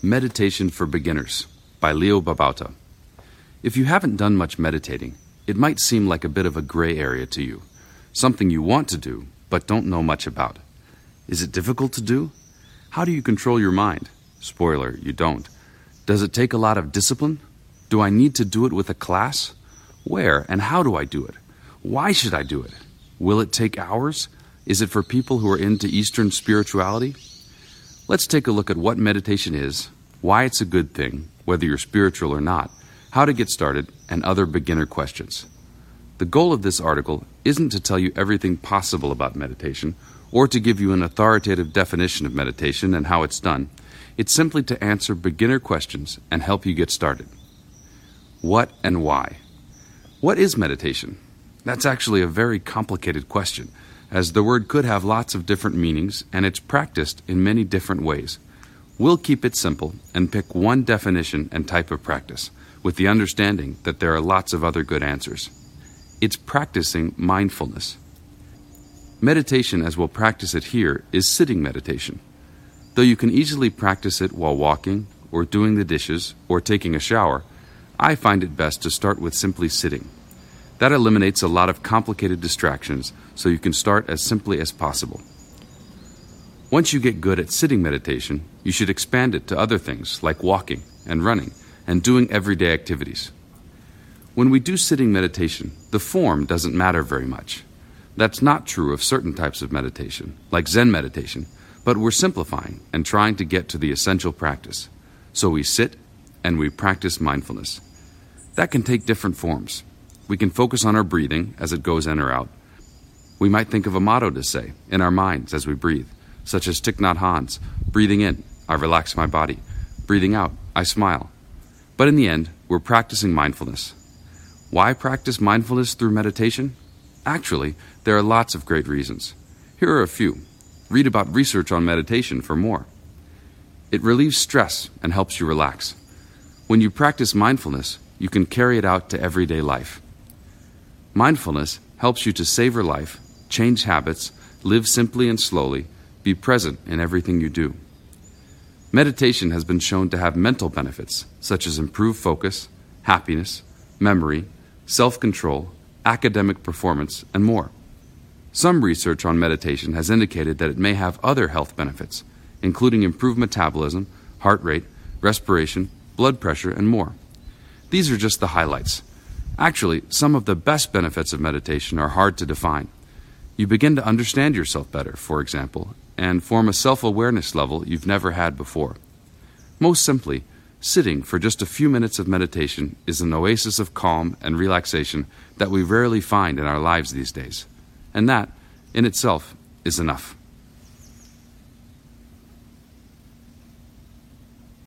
Meditation for Beginners by Leo Babauta. If you haven't done much meditating, it might seem like a bit of a gray area to you, something you want to do but don't know much about. Is it difficult to do? How do you control your mind? Spoiler, you don't. Does it take a lot of discipline? Do I need to do it with a class? Where and how do I do it? Why should I do it? Will it take hours? Is it for people who are into Eastern spirituality? Let's take a look at what meditation is, why it's a good thing, whether you're spiritual or not, how to get started, and other beginner questions. The goal of this article isn't to tell you everything possible about meditation or to give you an authoritative definition of meditation and how it's done. It's simply to answer beginner questions and help you get started. What and why? What is meditation? That's actually a very complicated question, as the word could have lots of different meanings and it's practiced in many different ways. We'll keep it simple and pick one definition and type of practice, with the understanding that there are lots of other good answers. It's practicing mindfulness. Meditation, as we'll practice it here, is sitting meditation. Though you can easily practice it while walking, or doing the dishes, or taking a shower, I find it best to start with simply sitting. That eliminates a lot of complicated distractions, so you can start as simply as possible. Once you get good at sitting meditation, you should expand it to other things like walking and running and doing everyday activities. When we do sitting meditation, the form doesn't matter very much. That's not true of certain types of meditation, like Zen meditation, but we're simplifying and trying to get to the essential practice. So we sit and we practice mindfulness. That can take different forms. We can focus on our breathing as it goes in or out. We might think of a motto to say in our minds as we breathe, such as Thich Nhat Hanh's, breathing in, I relax my body. Breathing out, I smile. But in the end, we're practicing mindfulness. Why practice mindfulness through meditation? Actually, there are lots of great reasons. Here are a few. Read about research on meditation for more. It relieves stress and helps you relax. When you practice mindfulness, you can carry it out to everyday life. Mindfulness helps you to savor life, change habits, live simply and slowly, be present in everything you do. Meditation has been shown to have mental benefits, such as improved focus, happiness, memory, self-control, academic performance, and more. Some research on meditation has indicated that it may have other health benefits, including improved metabolism, heart rate, respiration, blood pressure, and more. These are just the highlights. Actually, some of the best benefits of meditation are hard to define. You begin to understand yourself better, for example, and form a self-awareness level you've never had before. Most simply, sitting for just a few minutes of meditation is an oasis of calm and relaxation that we rarely find in our lives these days. And that, in itself, is enough.